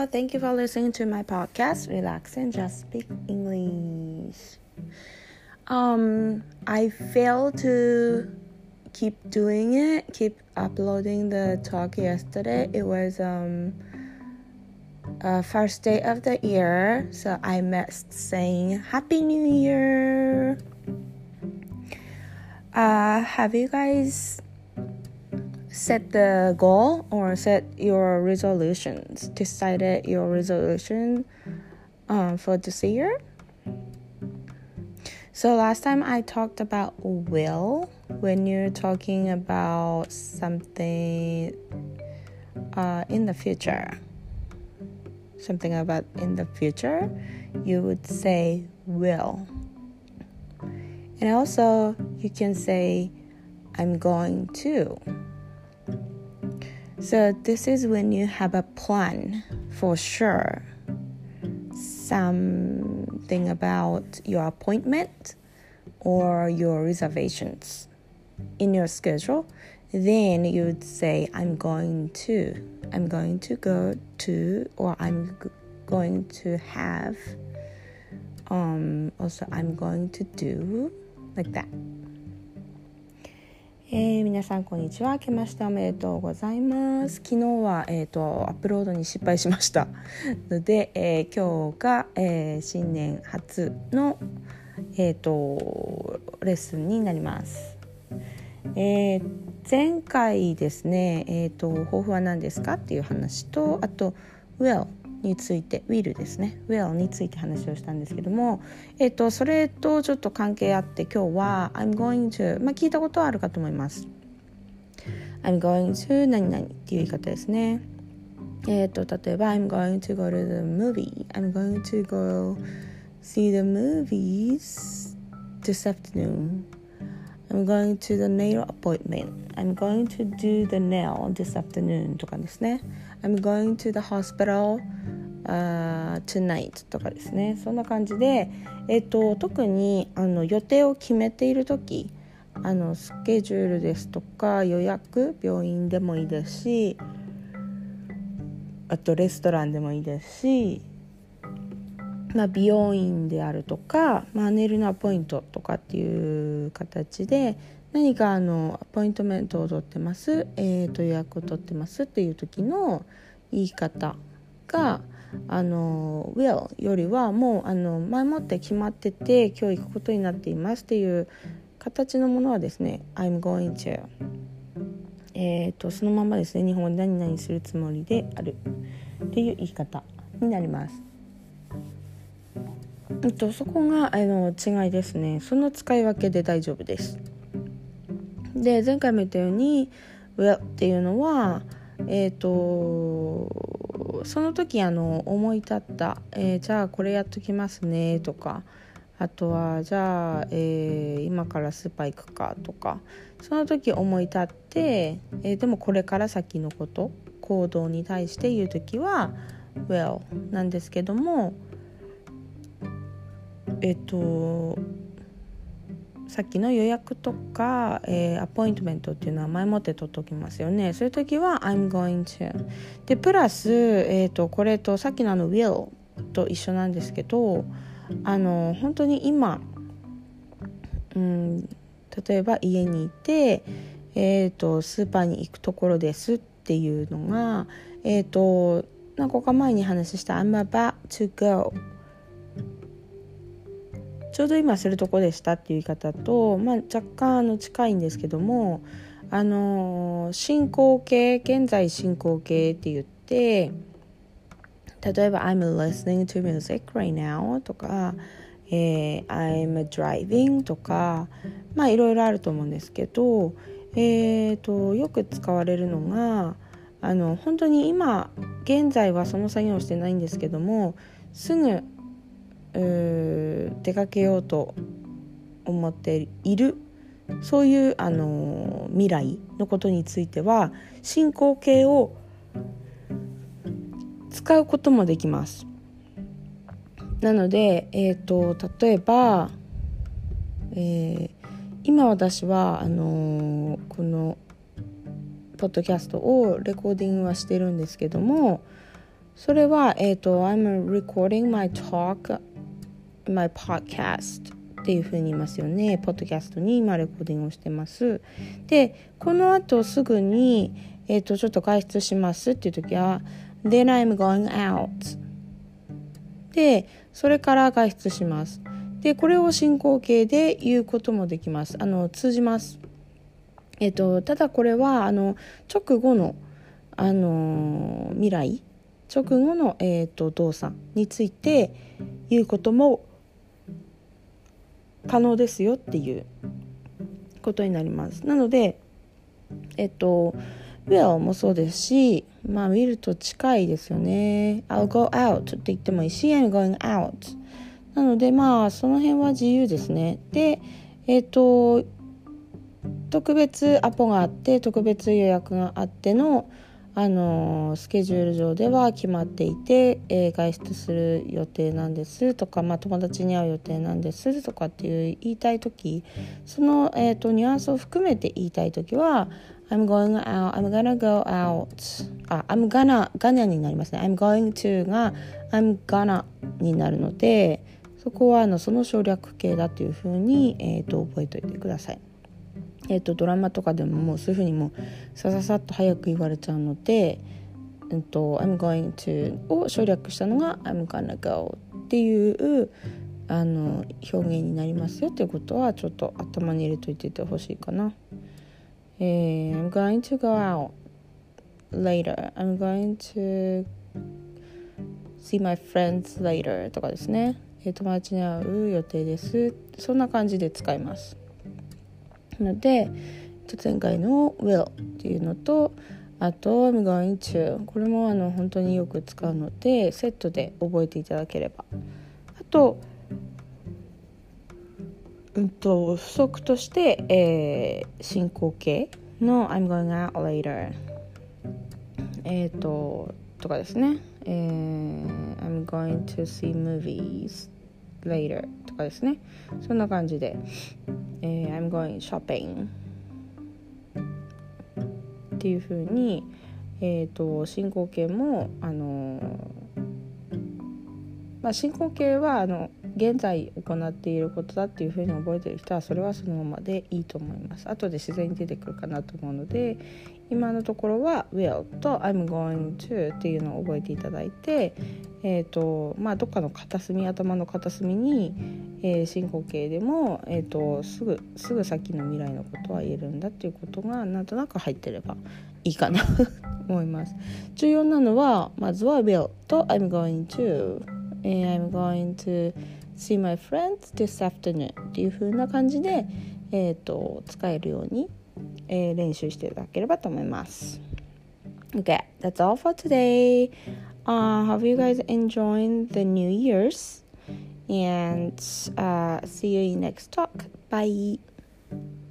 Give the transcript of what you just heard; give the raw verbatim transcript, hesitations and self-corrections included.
Hello, thank you for listening to my podcast, Relax and Just Speak English. Um, I failed to keep doing it, keep uploading the talk yesterday. It was um uh, first day of the year, so I missed saying Happy New Year. Uh, have you guys set the goal or set your resolutions, decided your resolution um, for this year? So last time I talked about will. When you're talking about something uh, in the future, something about in the future, you would say will. And also you can say I'm going to. So this is when you have a plan for sure, something about your appointment or your reservations in your schedule. Then you would say, I'm going to, I'm going to go to, or I'm g- going to have, um, also I'm going to do, like that.えー、皆さんこんにちは。明けましておめでとうございます。昨日は、えーと、アップロードに失敗しましたので、えー、今日が、えー、新年初の、えーと、レッスンになります。えー、前回ですね、えーと、抱負は何ですかっていう話と、あと willについて will ですね will について話をしたんですけども、えっとそれとちょっと関係あって今日は I'm going to まあ聞いたことはあるかと思います。 I'm going to 何々っていう言い方ですね。えっと例えば I'm going to go to the movie I'm going to go see the movies this afternoon I'm going to the nail appointment I'm going to do the nail this afternoon とかですね。 I'm going to the hospital、uh, tonight とかですね。そんな感じで、えっと、特にあの予定を決めているとき、あのスケジュールですとか予約、病院でもいいですし、あとレストランでもいいですし、まあ、美容院であるとか、まあ、ネイルのアポイントとかっていう形で何かあのアポイントメントを取ってます、えー、と予約を取ってますっていう時の言い方があの will よりはもうあの前もって決まってて今日行くことになっていますっていう形のものはですね I'm going to、えー、とそのままですね、日本語で何々するつもりであるっていう言い方になります。えっと、そこがあの違いですね。その使い分けで大丈夫です。で、前回も言ったように will っていうのはえっとその時あの思い立った、えー、じゃあこれやっときますねとか、あとはじゃあ、えー、今からスーパー行くかとか、その時思い立って、えー、でもこれから先のこと行動に対して言う時は will なんですけども、えっとさっきの予約とか、えー、アポイントメントっていうのは前もって取っておきますよね。そういう時は I'm going to でプラス、えー、とこれとさっきのあの will と一緒なんですけど、あの本当に今、うん、例えば家にいて、えー、とスーパーに行くところですっていうのが、えー、と何個か前に話した I'm about to goちょうど今するとこでしたっていう言い方と、まあ、若干あの近いんですけども、あのー、進行形、現在進行形って言って、例えば I'm listening to music right now とか、えー、I'm driving とか、まあいろいろあると思うんですけど、えーと、よく使われるのが、あの本当に今現在はその作業をしてないんですけども、すぐ出かけようと思っている、そういうあの未来のことについては進行形を使うこともできます。なので、えーと、例えば、えー、今私はあのこのポッドキャストをレコーディングはしてるんですけども、 それは、えーと、I'm recording my talk, my podcast っていうふうに言いますよね。ポッドキャストに今レコーディングをしてます。で、この後すぐに、えーと、ちょっと外出しますっていう時は Then I'm going out で、それから外出します。で、これを進行形で言うこともできます。あの通じます。えーと、ただこれはあの直後の、あのー、未来直後の、えーと、動作について言うことも可能ですよっていうことになります。なので、えっと will もそうですし、まあ will と近いですよね。I'll go out って言ってもいいし I'm going out なので、まあその辺は自由ですね。で、えっと特別アポがあって特別予約があってのあのスケジュール上では決まっていて、えー、外出する予定なんですとか、まあ、友達に会う予定なんですとかっていう言いたいとき、その、えーと、ニュアンスを含めて言いたいときは I'm going out, I'm gonna go out あ、I'm gonna, gonna になりますね。I'm going to が I'm gonna になるので、そこはあのその省略形だというふうに、えーと、覚えておいてください。えー、とドラマとかでももうそういう風にもうさささっと早く言われちゃうので、えー、と I'm going to を省略したのが I'm gonna go っていうあの表現になりますよということはちょっと頭に入れといててほしいかな。えー、I'm going to go out later I'm going to see my friends later とかですね、えー、友達に会う予定です、そんな感じで使います。ので前回の will っていうのと、あと I'm going to これもあの本当によく使うのでセットで覚えていただければ。あと、うんと補足として、えー、進行形の I'm going out later えっ、ー、ととかですね、えー、I'm going to see movies later とかですね、そんな感じで、えー、I'm going shopping っていう風に、えーと、進行形もあのーまあ、進行形はあの現在行っていることだっていう風に覚えている人はそれはそのままでいいと思います。後で自然に出てくるかなと思うので、今のところは will と I'm going to っていうのを覚えていただいて、えーとまあ、どっかの片隅頭の片隅に、えー、進行形でも、えーと、すぐすぐ先の未来のことは言えるんだっていうことがなんとなく入ってればいいかなと思います。重要なのはまずは will と I'm going to、I'm going to see my friends this afternoon っていう風な感じで、えーと、使えるようにえー、練習していただければと思います。Okay, that's all for today. Uh, hope you guys enjoyed the New Year's and uh, see you in next talk. Bye.